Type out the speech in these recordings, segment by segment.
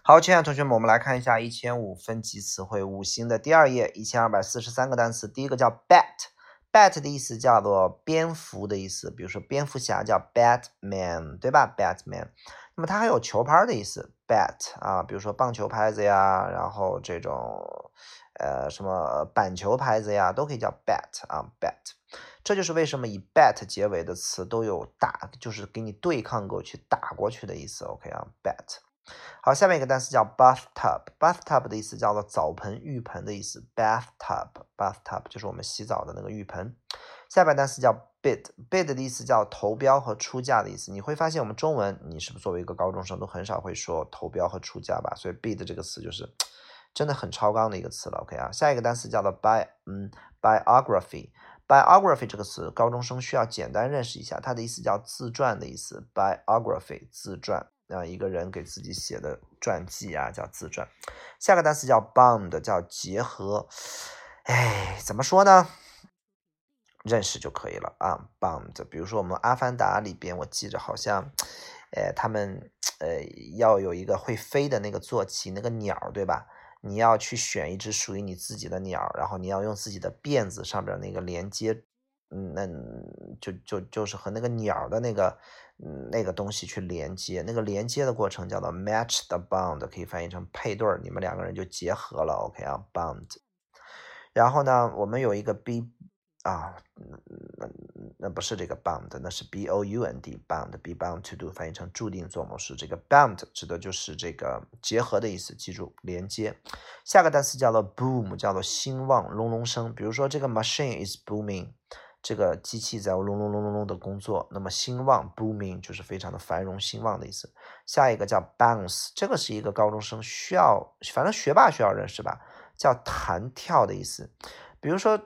好，亲爱的同学们，我们来看一下1005分级词汇五星的第2页，1243个单词。第一个叫 bat，bat 的意思叫做蝙蝠的意思，比如说蝙蝠侠叫 Batman，对吧 ？Batman。那么它还有球拍的意思 bat 啊，比如说棒球拍子呀，然后这种什么板球拍子呀，都可以叫 bat 啊 bat。这就是为什么以 bat 结尾的词都有打，就是给你对抗过去、打过去的意思。OK 啊 bat。好，下面一个单词叫 bathtub，bathtub 的意思叫做澡盆、浴盆的意思 ，bathtub 就是我们洗澡的那个浴盆。下边单词叫 bid，bid 的意思叫投标和出价的意思。你会发现我们中文，你是不是作为一个高中生都很少会说投标和出价吧？所以 bid 这个词就是真的很超纲的一个词了。OK 啊，下一个单词叫做 biography。biography 这个词，高中生需要简单认识一下，它的意思叫自传的意思 ，biography 自传。一个人给自己写的传记啊，叫自传。下个单词叫 bond， 叫结合。怎么说呢？认识就可以了啊 ，bond。比如说我们《阿凡达》里边，我记着好像，他们要有一个会飞的那个坐骑，那个鸟，对吧？你要去选一只属于你自己的鸟，然后你要用自己的辫子上边那个连接，就是和那个鸟的那个东西去连接，那个连接的过程叫做 match the bond， 可以翻译成配对，你们两个人就结合了。OK 啊 ，bond。然后呢，我们有一个 b 啊，那不是这个 bound， 那是 bound bound，be bound to do， 翻译成注定做某事。这个 bound 指的就是这个结合的意思，记住连接。下个单词叫做 boom， 叫做兴旺、隆隆声。比如说这个 machine is booming， 这个机器在隆隆隆隆隆的工作。那么兴旺 booming 就是非常的繁荣兴旺的意思。下一个叫 bounce， 这个是一个高中生需要，反正学霸需要认识吧，叫弹跳的意思。比如说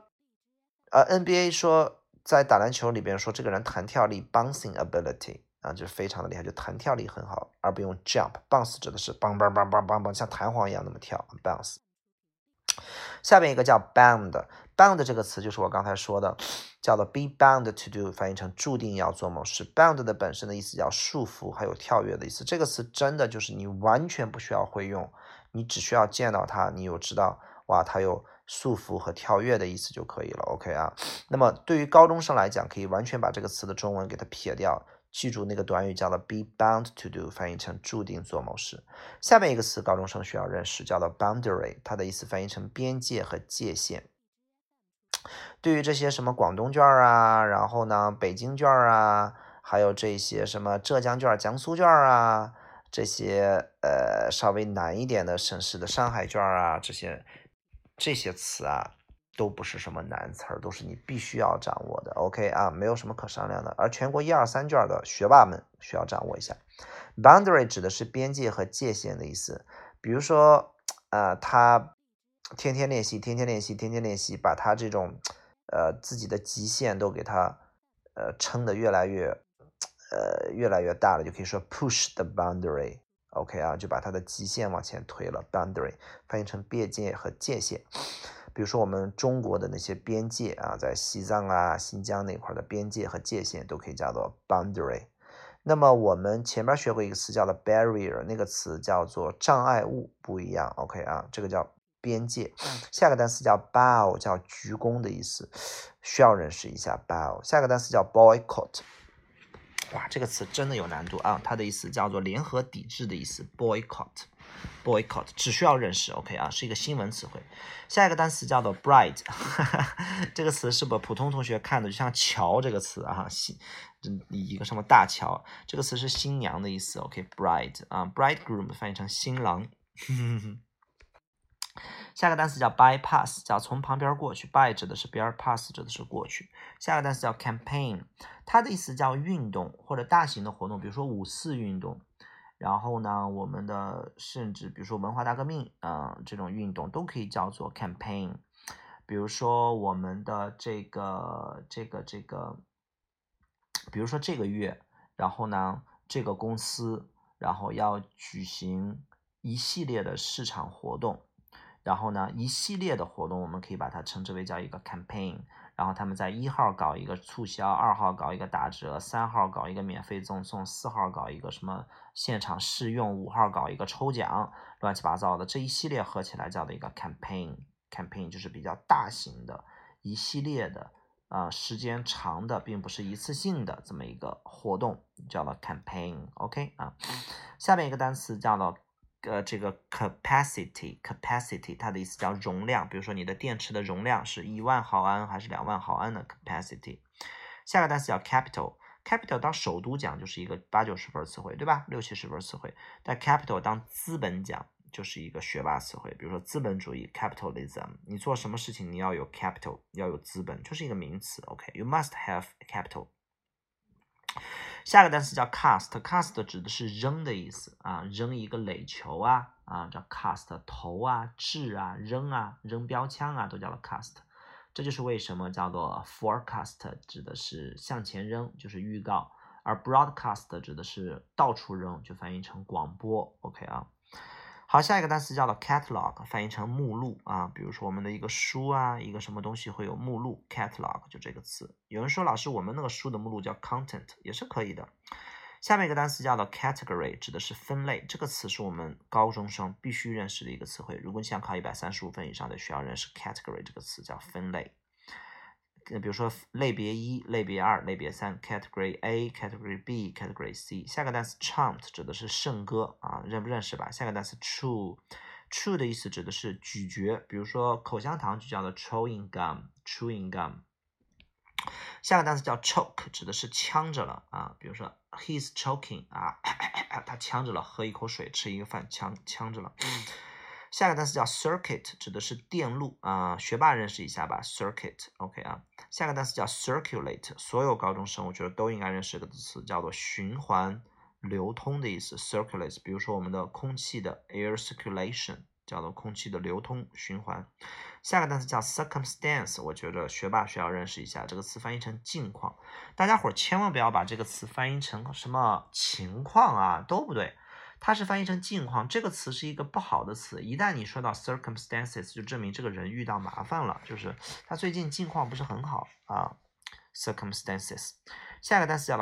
NBA 说在打篮球里边说这个人弹跳力 bouncing ability 啊，就是非常的厉害，就弹跳力很好，而不用 jump。bounce 指的是梆梆梆梆梆梆，像弹簧一样那么跳 bounce。下面一个叫 bound，bound 这个词就是我刚才说的，叫做 be bound to do， 翻译成注定要做某事。bound 的本身的意思叫束缚，还有跳跃的意思。这个词真的就是你完全不需要会用，你只需要见到它，你有知道哇，它有束缚和跳跃的意思就可以了。OK 啊，那么对于高中生来讲，可以完全把这个词的中文给它撇掉，记住那个短语叫做 be bound to do， 翻译成注定做某事。下面一个词高中生需要认识，叫做 boundary， 它的意思翻译成边界和界限。对于这些什么广东卷啊，然后呢北京卷啊，还有这些什么浙江卷、江苏卷啊，这些稍微难一点的省市的上海卷啊，这些词啊，都不是什么难词儿，都是你必须要掌握的。OK 啊，没有什么可商量的。而全国1、2、3卷的学霸们需要掌握一下。boundary 指的是边界和界限的意思。比如说，他天天练习，天天练习，天天练习，把他这种自己的极限都给他撑得越来越大了，就可以说 push the boundary。OK 啊，就把它的极限往前推了 ，boundary 翻译成边界和界限。比如说我们中国的那些边界啊，在西藏啊、新疆那块的边界和界限都可以叫做 boundary。那么我们前面学过一个词叫做 barrier， 那个词叫做障碍物，不一样。OK 啊，这个叫边界。下个单词叫 bow， 叫鞠躬的意思，需要认识一下 bow。下个单词叫 boycott。哇，这个词真的有难度啊！它的意思叫做联合抵制的意思 ，boycott 只需要认识 ，OK 啊，是一个新闻词汇。下一个单词叫做 bride， 这个词是不普通同学看的就像桥这个词啊，一个什么大桥，这个词是新娘的意思 ，OK，bride 啊 ，bridegroom 翻译成新郎。下个单词叫 bypass， 叫从旁边过去 ，by 指的是边 ，pass 指的是过去。下个单词叫 campaign， 它的意思叫运动或者大型的活动，比如说5·4运动。然后呢，我们的甚至比如说文化大革命这种运动都可以叫做 campaign。比如说我们的比如说这个月，然后呢，这个公司然后要举行一系列的市场活动。然后呢，一系列的活动我们可以把它称之为叫一个 campaign。 然后他们在1号搞一个促销，2号搞一个打折，3号搞一个免费赠送，4号搞一个什么现场试用，5号搞一个抽奖，乱七八糟的这一系列合起来叫的一个 campaign 就是比较大型的一系列的时间长的，并不是一次性的这么一个活动，叫做 campaign。 OK 下面一个单词叫做这个 capacity， 它的意思叫容量，比如说你的电池的容量是1万毫安还是2万毫安的 capacity。 下个单词叫 capital 当首都讲就是一个80-90分词汇，对吧？60-70分词汇。但 capital 当资本讲就是一个学霸词汇，比如说资本主义 capitalism， 你做什么事情你要有 capital， 要有资本，就是一个名词。 OK， you must have capital。下个单词叫 cast 指的是扔的意思扔一个垒球叫 cast， 投掷扔标枪都叫做 cast。这就是为什么叫做 forecast 指的是向前扔，就是预告，而 broadcast 指的是到处扔，就翻译成广播。 OK 好，下一个单词叫做 catalog， 翻译成目录比如说我们的一个书一个什么东西会有目录 catalog 就这个词。有人说老师我们那个书的目录叫 content， 也是可以的。下面一个单词叫做 category， 指的是分类，这个词是我们高中生必须认识的一个词汇，如果你想考135分以上的需要认识 category 这个词，叫分类。比如说类别1、类别2、类别3 category A、category B、category C。 下个单词 chant 指的是圣歌认不认识吧？下个单词 chew 的意思指的是咀嚼，比如说口香糖就叫做 chewing gum。 下个单词叫 choke， 指的是呛着了比如说 he's choking 他呛着了，喝一口水吃一个饭呛着了。下个单词叫 circuit， 指的是电路学霸认识一下吧 circuit。 OK 下个单词叫 circulate， 所有高中生我觉得都应该认识这个词，叫做循环流通的意思 circulate。 比如说我们的空气的 air circulation， 叫做空气的流通循环。下个单词叫 circumstance， 我觉得学霸需要认识一下，这个词翻译成境况，大家伙千万不要把这个词翻译成什么情况都不对，它是翻译成境况，这个词是一个不好的词，一旦你说到 circumstances 就证明这个人遇到麻烦了，就是他最近境况不是很好circumstances。 下个单词叫做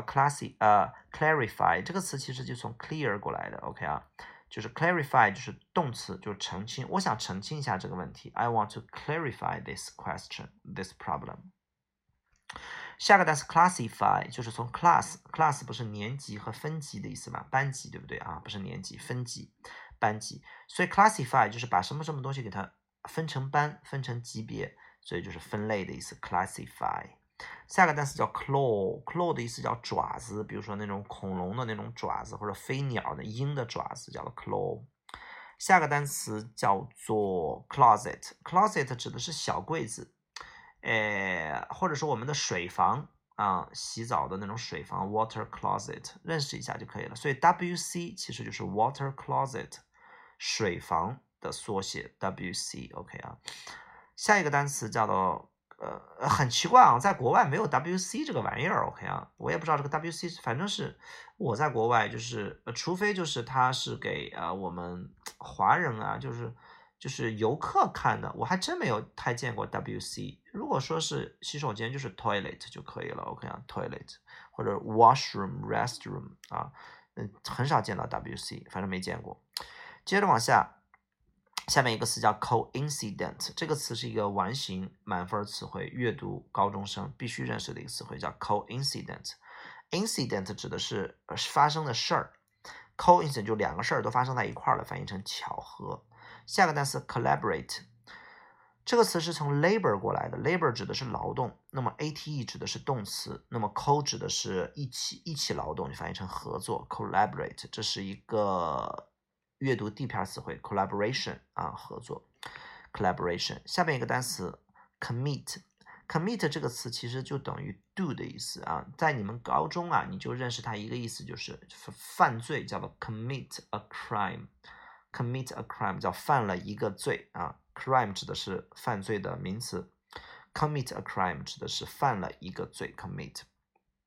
clarify， 这个词其实就从 clear 过来的。 OK 就是 clarify 就是动词，就是澄清，我想澄清一下这个问题， I want to clarify this question, this problem。 下个单词 classify 就是从 class 不是年级和分级的意思吗？班级对不对不是年级，分级班级，所以 classify 就是把什么什么东西给它分成班，分成级别，所以就是分类的意思 classify。 下个单词叫 claw 的意思叫爪子，比如说那种恐龙的那种爪子，或者飞鸟的鹰的爪子叫做 claw。 下个单词叫做 closet 指的是小柜子或者说我们的水房洗澡的那种水房 water closet， 认识一下就可以了。所以 WC 其实就是 water closet， 水房的缩写 WC。 OK 下一个单词叫做很奇怪在国外没有 WC 这个玩意儿。 OK 我也不知道这个 WC， 反正是我在国外就是除非就是它是给我们华人就是游客看的，我还真没有太见过 WC。 如果说是洗手间就是 toilet 就可以了。 OK toilet 或者 washroom restroom 很少见到 WC， 反正没见过。接着往下，下面一个词叫 coincident， 这个词是一个完形满分词汇，阅读高中生必须认识的一个词汇，叫 coincident。 incident 指的是发生的事儿， coincident 就两个事儿都发生在一块儿了，翻译成巧合。下个单词 collaborate， 这个词是从 labor 过来的， labor 指的是劳动，那么 ate 指的是动词，那么 co 指的是一起劳动，就翻译成合作 collaborate。 这是一个阅读地片词汇 collaboration 合作 collaboration。 下面一个单词 commit 这个词其实就等于 do 的意思在你们高中你就认识它一个意思，就是犯罪，叫做 commit a crime，commit a crime 叫犯了一个罪crime 指的是犯罪的名词， commit a crime 指的是犯了一个罪 commit。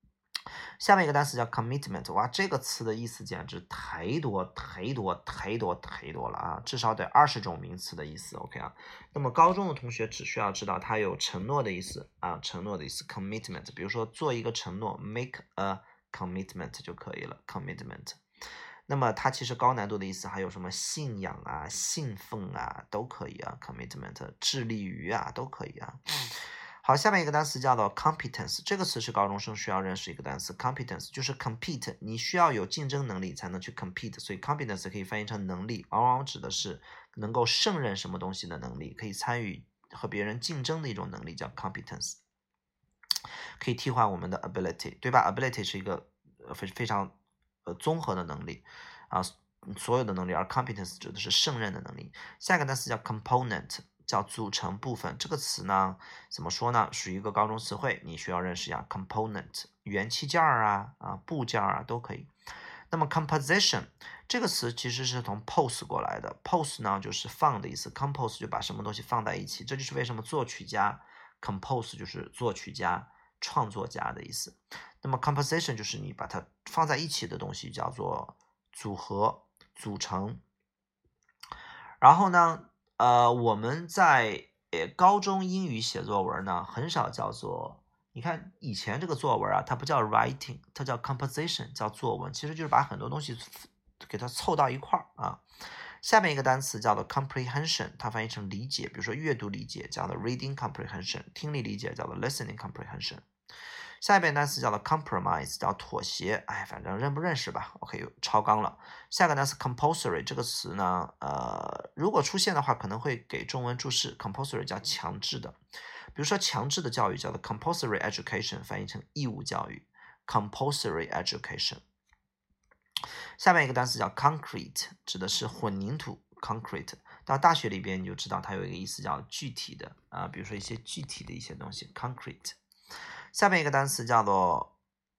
下面一个单词叫 commitment， 哇，这个词的意思简直太多了啊，至少得20种名词的意思 ，OK 啊。那么高中的同学只需要知道它有承诺的意思啊，承诺的意思 commitment， 比如说做一个承诺 make a commitment 就可以了 commitment。那么它其实高难度的意思还有什么信仰啊、信奉啊都可以啊 commitment， 致力于啊都可以啊。好，下面一个单词叫做 competence， 这个词是高中生需要认识一个单词 competence， 就是 compete， 你需要有竞争能力才能去 compete， 所以 competence 可以翻译成能力，往往指的是能够胜任什么东西的能力，可以参与和别人竞争的一种能力叫 competence， 可以替换我们的 ability， 对吧？ ability 是一个非常综合的能力啊，所有的能力，而 competence 指的是胜任的能力。下一个单词叫 component，叫组成部分，这个词呢，怎么说呢？属于一个高中词汇，你需要认识一下 component， 元器件啊、部件啊都可以。那么 composition 这个词其实是从 pose 过来的 ，pose 呢就是放的意思 ，compose 就把什么东西放在一起，这就是为什么作曲家 compose 就是作曲家、创作家的意思。那么 composition 就是你把它放在一起的东西叫做组合、组成。然后呢，我们在高中英语写作文呢，很少叫做，你看以前这个作文啊，它不叫 writing， 它叫 composition， 叫作文，其实就是把很多东西给它凑到一块儿啊。下面一个单词叫做 comprehension， 它翻译成理解，比如说阅读理解叫做 reading comprehension， 听力理解叫做 listening comprehension。下一遍单词叫做 compromise， 叫妥协，哎，反正认不认识吧 ，OK， 超纲了。下个单词 compulsory 这个词呢，如果出现的话，可能会给中文注释 compulsory 叫强制的，比如说强制的教育叫做 compulsory education， 翻译成义务教育 compulsory education。下面一个单词叫 concrete， 指的是混凝土 concrete。到大学里边你就知道它有一个意思叫具体的啊，比如说一些具体的一些东西 concrete。下面一个单词叫做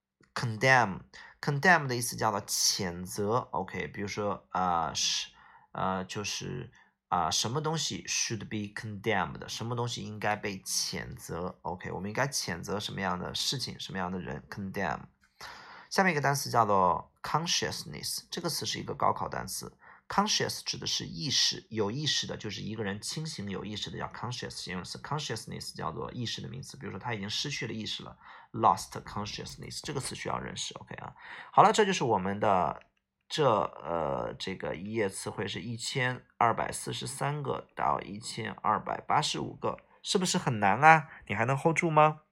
condemn 的意思叫做谴责 ，OK， 比如说就是什么东西 should be condemned， 什么东西应该被谴责 ，OK， 我们应该谴责什么样的事情，什么样的人 condemn。下面一个单词叫做 consciousness， 这个词是一个高考单词。conscious 指的是意识，有意识的，就是一个人清醒有意识的叫 conscious 形容词 ，consciousness 叫做意识的名词，比如说他已经失去了意识了 ，lost consciousness 这个词需要认识 ，OK 啊。好了，这就是我们的这个一页词汇是1243个到1285个，是不是很难啊？你还能 hold 住吗？